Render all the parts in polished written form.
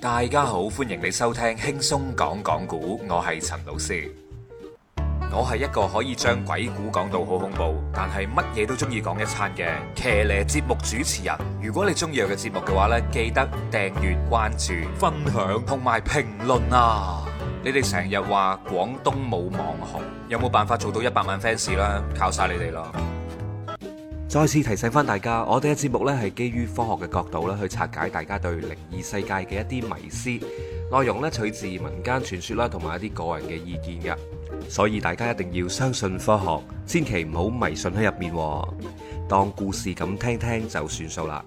大家好，歡迎你收聽輕鬆講講古，我係陳老師。我係一個可以將鬼故講到好恐怖，但係乜嘢都中意講一餐嘅騎呢節目主持人。如果你中意我嘅節目嘅話呢，記得訂閱、關注、分享同埋評論啊！你哋成日話廣東冇網紅，有冇辦法做到100萬 fans 啦？靠晒你哋咯！再次提醒翻大家，我哋嘅節目呢係基於科學嘅角度啦，去拆解大家對靈異世界嘅一啲迷思，內容呢取自民間傳說啦，同埋一啲個人嘅意見嘅，所以大家一定要相信科學，千祈唔好迷信喺入面，當故事咁聽聽就算數啦。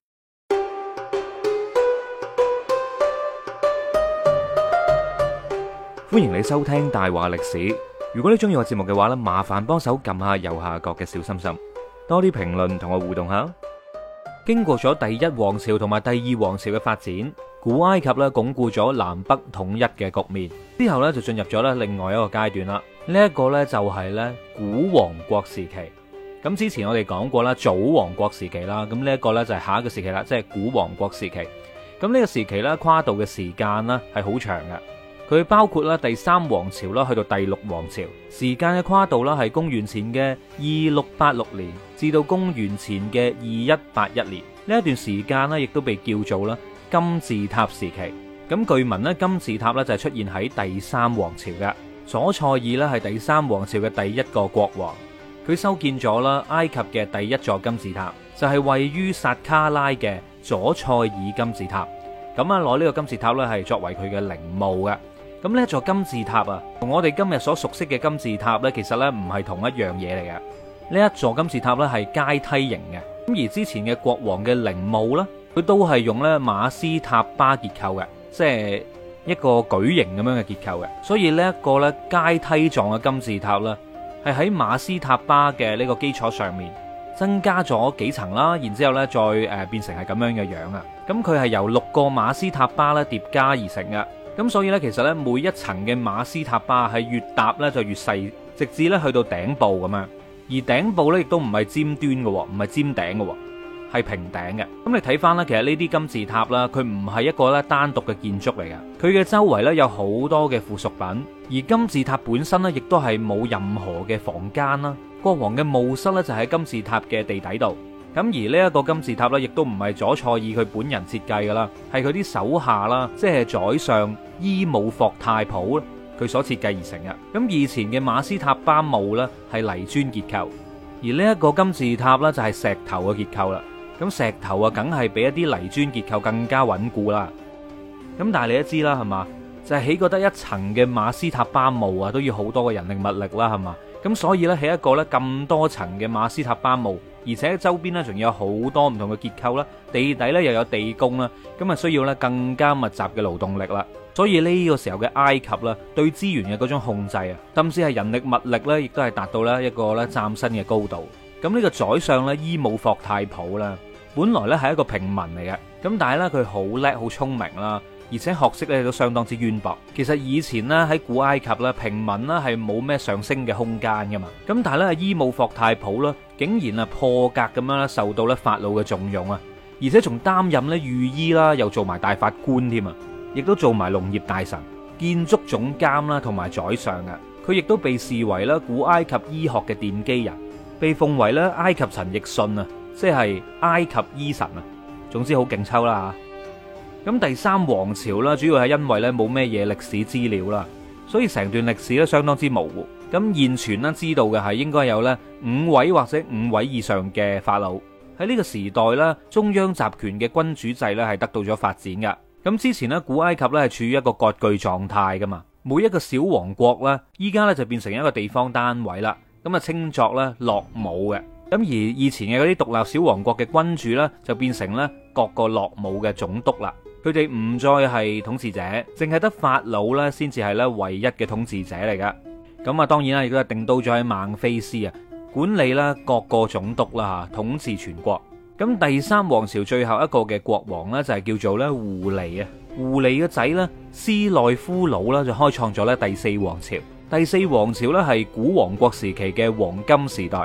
歡迎你收聽大話歷史。如果你中意我節目嘅話呢，麻煩幫手撳下右下角嘅小心心，多啲評論同我互動下。經過咗第一王朝同埋第二王朝嘅發展，古埃及咧鞏固咗南北統一嘅局面，之後咧就進入咗咧另外一個階段啦。呢一個咧就係咧古王國時期。咁之前我哋講過啦，早王國時期啦，咁呢一個咧就係下一個時期啦，即係古王國時期。咁呢個時期咧跨度嘅時間呢係好長嘅。佢包括啦第三王朝啦，去到第六王朝，時間嘅跨度啦係公元前嘅2686年至到公元前嘅2181年。呢一段時間呢亦都被叫做啦金字塔時期。咁據聞呢金字塔呢就係出現喺第三王朝嘅。左塞爾呢係第三王朝嘅第一個國王，佢修建咗啦埃及嘅第一座金字塔，就係位於薩卡拉嘅左塞爾金字塔。咁啊攞呢個金字塔呢係作為佢嘅陵墓嘅。咁呢一座金字塔啊，同我哋今日所熟悉嘅金字塔呢，其實呢唔係同一樣嘢嚟嘅。呢一座金字塔呢係階梯形嘅。咁而之前嘅國王嘅陵墓呢，佢都係用咧馬斯塔巴結構嘅，即係一個矩形咁樣嘅結構嘅。所以呢一個咧階梯狀嘅金字塔呢，係喺馬斯塔巴嘅呢個基礎上面增加咗幾層啦，然之後呢再變成係咁樣嘅樣啊。咁佢係由6個馬斯塔巴咧疊加而成嘅。咁所以咧，其實咧每一層嘅馬斯塔巴係越搭咧就越細，直至咧去到頂部咁樣。而頂部咧亦都唔係尖端嘅，唔係尖頂嘅，係平頂嘅。咁你睇翻咧，其實呢啲金字塔啦，佢唔係一個咧單獨嘅建築嚟嘅，佢嘅周圍咧有好多嘅附屬品。而金字塔本身咧，亦都係冇任何嘅房間啦。國王嘅墓室咧就喺金字塔嘅地底度。咁而呢一個金字塔咧，亦都唔係左塞爾佢本人設計噶啦，係佢啲手下啦，即係宰相伊姆霍太普佢所設計而成嘅。咁以前嘅馬斯塔巴墓咧係泥磚結構，而呢一個金字塔咧就係石頭嘅結構啦。咁石頭啊，梗係比一啲泥磚結構更加穩固啦。咁但係你都知啦，係嘛？就係起覺得一層嘅馬斯塔巴墓啊，都要好多嘅人力物力啦，係嘛？咁所以咧起一個咧咁多層嘅馬斯塔巴墓，而且周邊咧仲有好多唔同嘅結構啦，地底咧又有地宮啦，咁啊需要咧更加密集嘅勞動力啦。所以呢個時候嘅埃及啦，對資源嘅嗰種控制啊，甚至係人力物力咧，亦都係達到咧一個咧嶄新嘅高度。咁呢個宰相咧伊姆霍太普啦，本來咧係一個平民嚟嘅，咁但係咧佢好叻好聰明啦。而且學識咧都相當之淵博。其實以前咧喺古埃及咧，平民咧係冇咩上升嘅空間噶嘛。咁但係咧伊姆霍太普咧，竟然啊破格咁樣咧受到咧法老嘅重用啊，而且仲擔任咧御醫啦，又做埋大法官添啊，亦都做埋農業大臣、建築總監啦，同埋宰相啊。佢亦都被視為咧古埃及醫學嘅奠基人，被奉為咧埃及陳奕迅啊，即係埃及醫神啊。總之好勁抽啦。咁第三王朝啦，主要係因為咧冇咩嘢歷史資料啦，所以成段歷史咧相當之模糊。咁現存啦知道嘅係應該有咧5位或者5位以上嘅法老。喺呢個時代咧，中央集權嘅君主制咧係得到咗發展噶。咁之前咧古埃及咧係處於一個割據狀態噶嘛，每一個小王國咧依家咧就變成一個地方單位啦，咁啊稱作咧諾姆嘅。咁而以前嘅嗰啲獨立小王國嘅君主咧就變成咧各個諾姆嘅總督啦。佢哋唔再係統治者，淨係得法老咧先至係咧唯一嘅統治者嚟噶。咁啊，當然啦，亦都係定到咗喺孟菲斯啊，管理啦各個總督啦吓，統治全國。咁第三王朝最後一個嘅國王咧就係叫做咧胡利啊。胡利嘅仔咧斯內夫魯啦就開創咗咧第四王朝。第四王朝咧係古王國時期嘅黃金時代。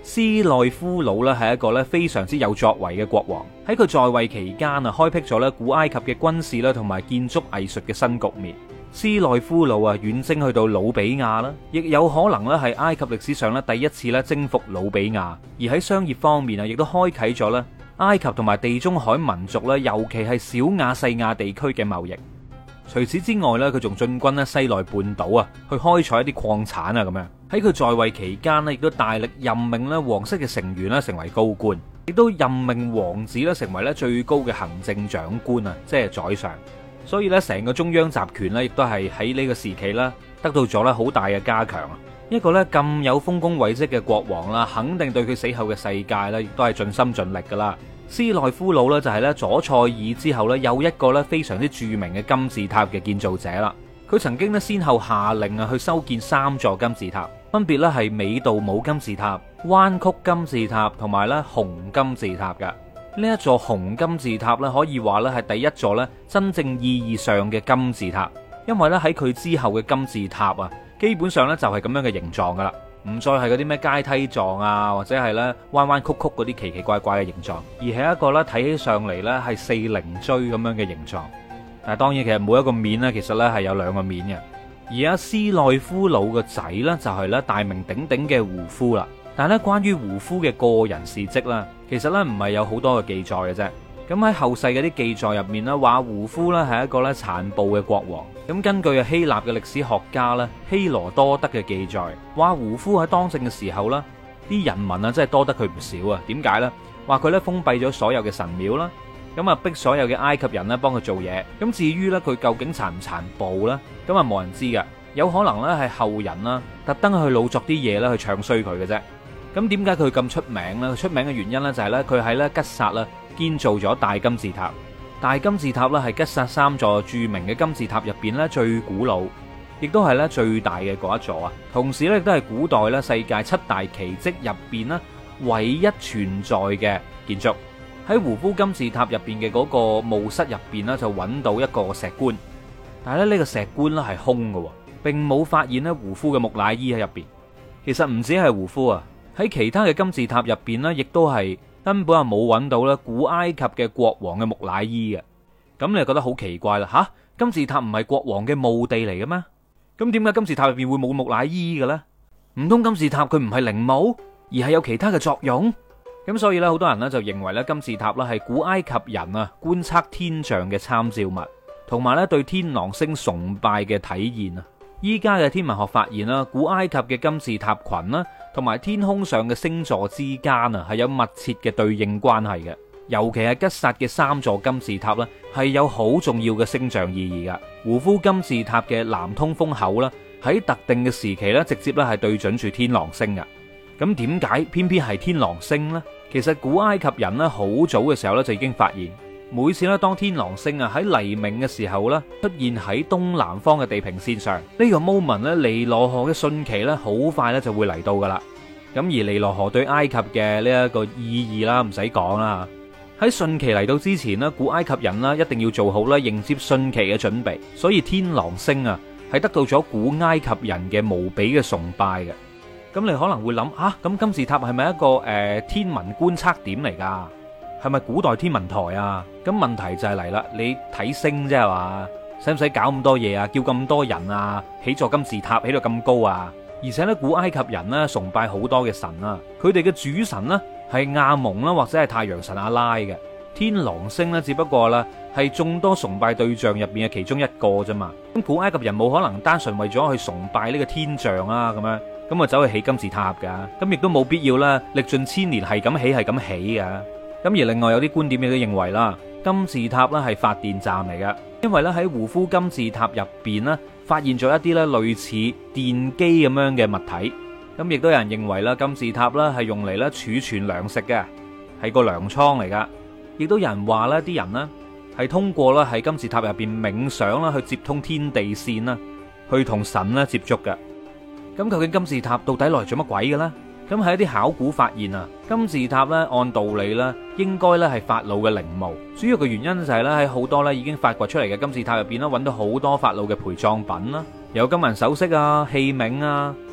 斯內夫魯咧係一個咧非常之有作為嘅國王，喺佢在位期間啊，開闢咗咧古埃及嘅軍事啦同埋建築藝術嘅新局面。斯內夫魯啊遠征去到努比亞啦，亦有可能咧係埃及歷史上咧第一次咧征服努比亞。而喺商業方面啊，亦都開啟咗咧埃及同埋地中海民族咧，尤其係小亞細亞地區嘅貿易。除此之外咧，佢仲進軍咧西奈半島啊，去開採一啲礦產啊咁樣。喺佢在位期間咧，亦都大力任命咧皇室嘅成員咧成為高官，亦都任命王子咧成為咧最高嘅行政長官啊，即係宰相。所以咧，成個中央集權咧，亦都係喺呢個時期啦，得到咗咧好大嘅加強啊。一個咧咁有豐功偉績嘅國王啦，肯定對佢死後嘅世界咧，亦都係盡心盡力噶啦。斯內夫魯咧就係咧左塞爾之後咧又一個咧非常之著名嘅金字塔嘅建造者啦。佢曾經咧先後下令啊去修建3座金字塔，分別咧係美杜姆金字塔、彎曲金字塔同埋咧紅金字塔嘅。呢一座紅金字塔咧可以話咧係第一座咧真正意義上嘅金字塔，因為咧喺佢之後嘅金字塔啊，基本上咧就係咁樣嘅形狀噶啦。唔再係嗰啲咩階梯狀啊，或者係咧彎彎曲曲嗰啲奇奇怪怪嘅形狀，而係一個咧睇起上嚟咧係四棱錐咁樣嘅形狀。但係當然其實每一個面咧其實咧係有2個面嘅。而阿斯內夫魯個仔咧就係咧大名鼎鼎嘅胡夫啦。但係咧關於胡夫嘅個人事蹟啦，其實咧唔係有好多嘅記載嘅啫。咁喺後世嘅啲記載入面咧，話胡夫咧係一個咧殘暴嘅國王。咁根據希臘嘅歷史學家咧希羅多德嘅記載，話胡夫喺當政嘅時候啦，啲人民啊真係多得佢唔少啊。點解呢？話佢咧封閉咗所有嘅神廟啦，咁啊逼所有嘅埃及人咧幫佢做嘢。咁至於咧佢究竟殘唔殘暴咧，咁啊冇人知噶。有可能咧係後人啦特登去老作啲嘢咧去唱衰佢嘅啫。咁點解佢咁出名呢？佢出名嘅原因咧就係咧佢喺咧吉薩啦建造咗大金字塔。大金字塔咧係吉薩3座著名嘅金字塔入邊咧最古老，亦都係咧最大嘅嗰一座啊。同時咧亦都係古代咧世界7大奇蹟入邊咧唯一存在嘅建築。喺胡夫金字塔入邊嘅嗰個墓室入邊咧就揾到一個石棺，但係咧呢個石棺咧係空嘅，並冇發現咧胡夫嘅木乃伊喺入邊。其實唔止係胡夫啊，喺其他嘅金字塔入邊咧亦都係根本係冇揾到咧古埃及嘅國王嘅木乃伊嘅。咁你就覺得好奇怪啦吓？金字塔唔係國王嘅墓地嚟嘅咩？咁點解金字塔入邊會冇木乃伊嘅咧？唔通金字塔佢唔係陵墓，而係有其他嘅作用？咁所以咧，好多人咧就認為咧金字塔咧係古埃及人啊觀測天象嘅參照物，同埋咧對天狼星崇拜嘅體現啊。依家嘅天文學發現啦，古埃及嘅金字塔群啦，同埋天空上嘅星座之間啊，係有密切嘅對應關係嘅。尤其係吉薩嘅3座金字塔啦，係有好重要嘅星象意義噶。胡夫金字塔嘅南通風口啦，喺特定嘅時期咧，直接咧係對準住天狼星噶。咁點解偏偏係天狼星呢？其實古埃及人咧好早嘅時候咧就已經發現，每次咧當天狼星啊喺黎明嘅時候咧出現喺東南方嘅地平線上，呢個 moment 咧尼羅河嘅汛期咧好快咧就會嚟到噶啦。咁而尼羅河對埃及嘅呢一個意義啦，唔使講啦。喺汛期嚟到之前咧，古埃及人啦一定要做好啦迎接汛期嘅準備，所以天狼星啊係得到咗古埃及人嘅無比嘅崇拜嘅。咁你可能會諗啊，咁金字塔係咪一個天文觀測點嚟噶？係咪古代天文台啊？咁問題就係嚟啦，你睇星啫係嘛？使唔使搞咁多嘢啊？叫咁多人啊？起座金字塔起到咁高啊？而且咧，古埃及人咧崇拜好多嘅神啊，佢哋嘅主神呢係亞蒙啦，或者係太陽神阿拉嘅。天狼星呢只不過啦係眾多崇拜對象入邊嘅其中一個啫嘛。咁古埃及人冇可能單純為咗去崇拜呢個天象啊咁樣。咁啊，走去起金字塔噶，咁亦都冇必要啦，歷盡千年係咁起係咁起噶。咁而另外有啲觀點亦都認為啦，金字塔咧係發電站嚟噶，因為咧喺胡夫金字塔入邊咧發現咗一啲咧類似電機咁樣嘅物體。咁亦都有人認為啦，金字塔咧係用嚟咧儲存糧食嘅，係個糧倉嚟噶。亦都有人話咧，啲人呢係通過啦喺金字塔入邊冥想啦，去接通天地線啦，去同神咧接觸嘅。咁究竟金字塔到底來做乜鬼嘅咧？咁喺一啲考古發現啊，金字塔咧按道理咧應該咧係法老嘅陵墓。主要嘅原因就係咧喺好多咧已經發掘出嚟嘅金字塔入邊咧揾到好多法老嘅陪葬品啦，有金銀首飾啊、器皿啊、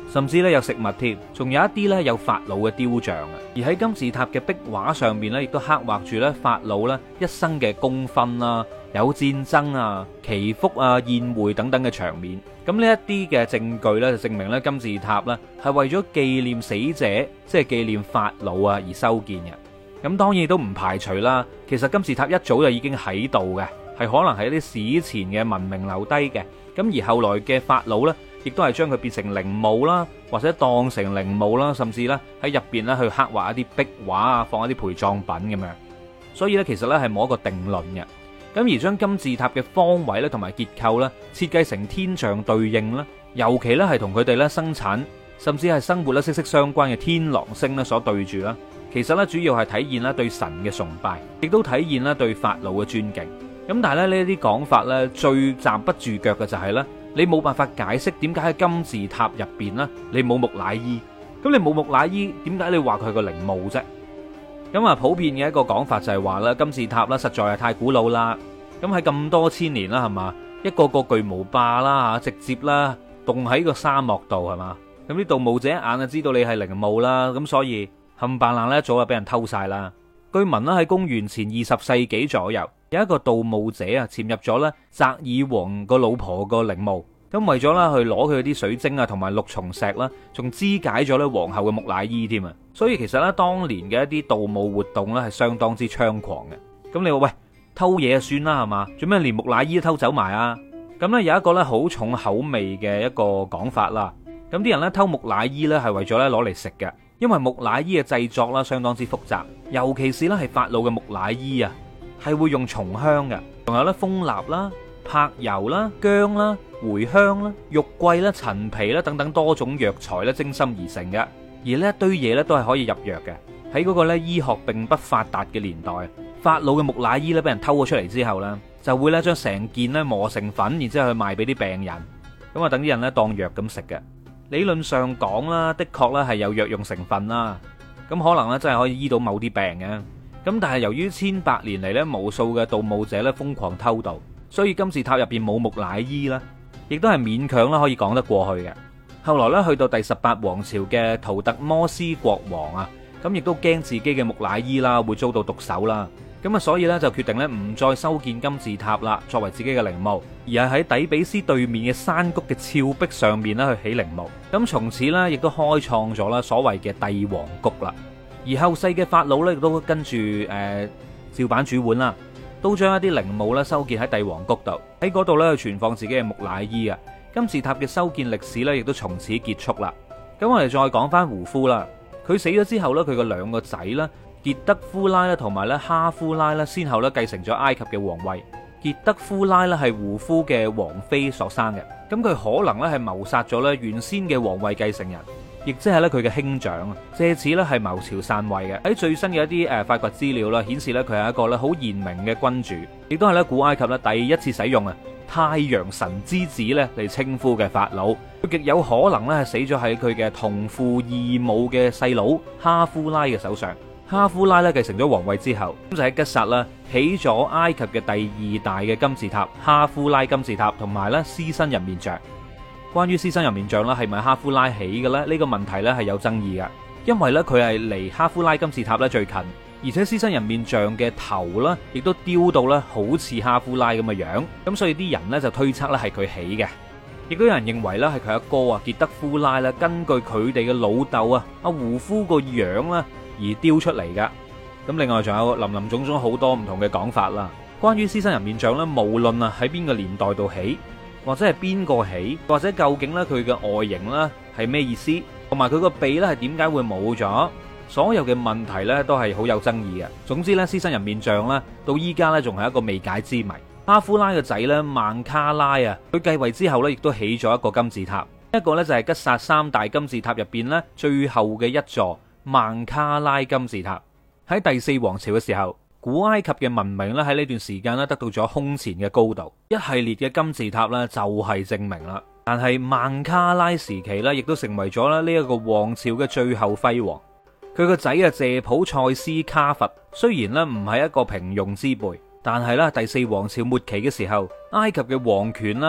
甚至咧有食物添，仲有一啲咧有法老嘅雕像啊。而喺金字塔嘅壁畫上面咧，亦都刻畫住咧法老咧一生嘅功勳啦，有戰爭啊、祈福啊、宴會等等嘅場面。咁呢一啲嘅證據咧，就證明咧金字塔咧係為咗紀念死者，即係紀念法老啊而修建嘅。咁當然都唔排除啦，其實金字塔一早就已經喺度嘅，係可能係一啲史前嘅文明留低嘅。咁而後來嘅法老呢，亦都係將佢變成陵墓啦，或者當成陵墓啦，甚至咧喺入邊咧去刻畫一啲壁畫啊，放一啲陪葬品咁樣。所以咧，其實咧係冇一個定論嘅。咁而將金字塔嘅方位咧同埋結構咧設計成天象對應啦，尤其咧係同佢哋咧生產甚至係生活咧息息相關嘅天狼星咧所對住啦。其實咧主要係體現咧對神嘅崇拜，亦都體現咧對法老嘅尊敬。咁但係咧呢啲講法咧最站不住腳嘅就係咧，你冇辦法解釋點解喺金字塔入邊呢你冇木乃伊。咁你冇木乃伊，點解你話佢係個陵墓啫？咁啊，普遍嘅一個講法就係話咧，金字塔啦實在係太古老啦。咁喺咁多千年啦，係嘛，一個個巨無霸啦吓，直接啦凍喺個沙漠度係嘛。咁啲盜墓者一眼就知道你係陵墓啦，咁所以冚唪唥咧一早就俾人偷晒啦。據聞啦喺公元前20世紀左右，有一個盜墓者啊潛入咗咧澤爾王個老婆個陵墓，咁為咗啦去攞佢啲水晶啊同埋綠松石啦，仲肢解咗咧皇后嘅木乃伊添啊！所以其實咧當年嘅一啲盜墓活動咧係相當之猖狂嘅。咁你話喂，偷嘢就算啦係嘛，做咩連木乃伊都偷走埋啊？咁咧有一個咧好重口味嘅一個講法啦。咁啲人咧偷木乃伊咧係為咗咧攞嚟食嘅，因為木乃伊嘅製作啦相當之複雜，尤其是咧係法老嘅木乃伊啊，係會用松香嘅，仲有咧蜂蠟啦、柏油啦、薑啦、茴香啦、肉桂啦、陳皮啦等等多種藥材咧精心而成嘅。而呢一堆嘢咧都係可以入藥嘅。喺嗰個咧醫學並不發達嘅年代，法老嘅木乃伊咧俾人偷咗出嚟之後咧，就會咧將成件咧磨成粉，然之後去賣俾啲病人，咁啊等啲人咧當藥咁食嘅。理論上講啦，的確咧係有藥用成分啦，咁可能咧真係可以醫到某啲病嘅。咁但係由於千百年嚟咧無數嘅盜墓者咧瘋狂偷盜，所以金字塔入邊冇木乃伊啦，亦都係勉強啦可以講得過去嘅。後來咧去到第18王朝嘅圖特摩斯國王啊，咁亦都驚自己嘅木乃伊啦會遭到毒手啦，咁啊所以咧就決定咧唔再修建金字塔啦，作為自己嘅陵墓，而係喺底比斯對面嘅山谷嘅峭壁上面咧去起陵墓。咁從此咧亦都開創咗啦所謂嘅帝王谷啦。而後世嘅法老咧亦都跟住照版煮碗啦，都將一啲陵墓咧修建喺帝王谷度，喺嗰度咧去存放自己嘅木乃伊啊。金字塔嘅修建歷史咧亦都從此結束啦。咁我哋再講翻胡夫啦，佢死咗之後咧，佢嘅兩個仔啦，傑德夫拉啦同埋咧哈夫拉啦，先後咧繼承咗埃及嘅皇位。傑德夫拉咧係胡夫嘅王妃所生嘅，咁佢可能咧係謀殺咗咧原先嘅皇位繼承人，亦即係咧佢嘅兄長啊，借此咧係謀朝篡位嘅。喺最新嘅一啲發掘資料啦，顯示咧佢係一個咧好賢明嘅君主，亦都係咧古埃及咧第一次使用太陽神之子咧嚟稱呼嘅法老。佢極有可能咧係死咗喺佢嘅同父異母嘅細佬哈夫拉嘅手上。哈夫拉咧繼承咗皇位之後，咁就喺吉薩啦起咗埃及嘅第2大嘅金字塔——哈夫拉金字塔，同埋咧獅身人面像。關於獅身人面像啦，係咪哈夫拉起嘅咧？呢個問題咧係有爭議嘅，因為咧佢係離哈夫拉金字塔咧最近，而且獅身人面像嘅頭啦，亦都雕到咧好似哈夫拉咁嘅樣，咁所以啲人咧就推測咧係佢起嘅。亦都有人認為咧係佢阿哥啊傑德夫拉啦，根據佢哋嘅老豆啊阿胡夫個樣啦而雕出嚟噶。咁另外仲有林林總總好多唔同嘅講法啦。關於獅身人面像咧，無論啊喺邊個年代度起，或者係邊個起，或者究竟咧佢嘅外形咧係咩意思，同埋佢個鼻咧係點解會冇咗，所有嘅問題咧都係好有爭議嘅。總之咧，獅身人面像咧到依家咧仲係一個未解之謎。哈夫拉嘅仔咧曼卡拉啊，佢繼位之後咧亦都起咗一個金字塔，一個咧就係吉薩3大金字塔入邊咧最後嘅一座曼卡拉金字塔。喺第4王朝嘅時候，古埃及嘅文明咧喺呢段時間咧得到咗空前嘅高度，一系列嘅金字塔咧就係證明啦。但係曼卡拉時期咧亦都成為咗咧呢一個王朝嘅最後輝煌。佢個仔啊謝普塞斯卡佛雖然咧唔係一個平庸之輩，但係咧第4王朝末期嘅時候，埃及嘅皇權啦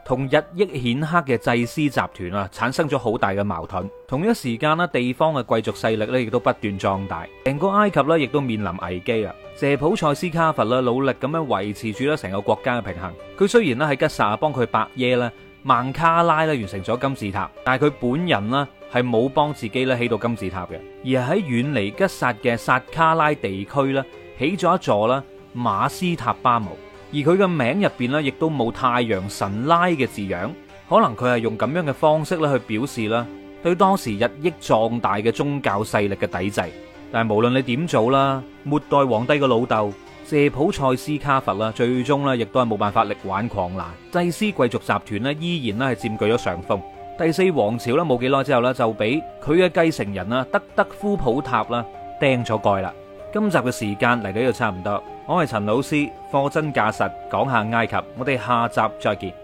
同日益顯赫嘅祭司集團啊，產生咗好大嘅矛盾。同一時間啦，地方嘅貴族勢力咧，亦都不斷壯大，成個埃及咧，亦都面臨危機啊。謝普塞斯卡佛啦，努力咁樣維持住咧成個國家嘅平衡。佢雖然咧喺吉薩幫佢伯爺咧孟卡拉咧完成咗金字塔，但係佢本人呢係冇幫自己咧起到金字塔嘅，而係喺遠離吉薩嘅薩卡拉地區咧起咗一座啦馬斯塔巴姆。而佢嘅名入邊咧，亦都冇太陽神拉嘅字樣，可能佢係用咁樣嘅方式咧去表示啦，對當時日益壯大嘅宗教勢力嘅抵制。但係無論你點做啦，末代皇帝嘅老豆謝普塞斯卡佛啦，最終咧亦都係冇辦法力挽狂瀾，祭司貴族集團咧依然咧係佔據咗上風。第四王朝咧冇幾耐之後咧，就俾佢嘅繼承人啊德德夫普塔啦釘咗蓋啦。今集嘅時間嚟到呢度差唔多，我係陳老師，貨真價實講下埃及，我哋下集再見。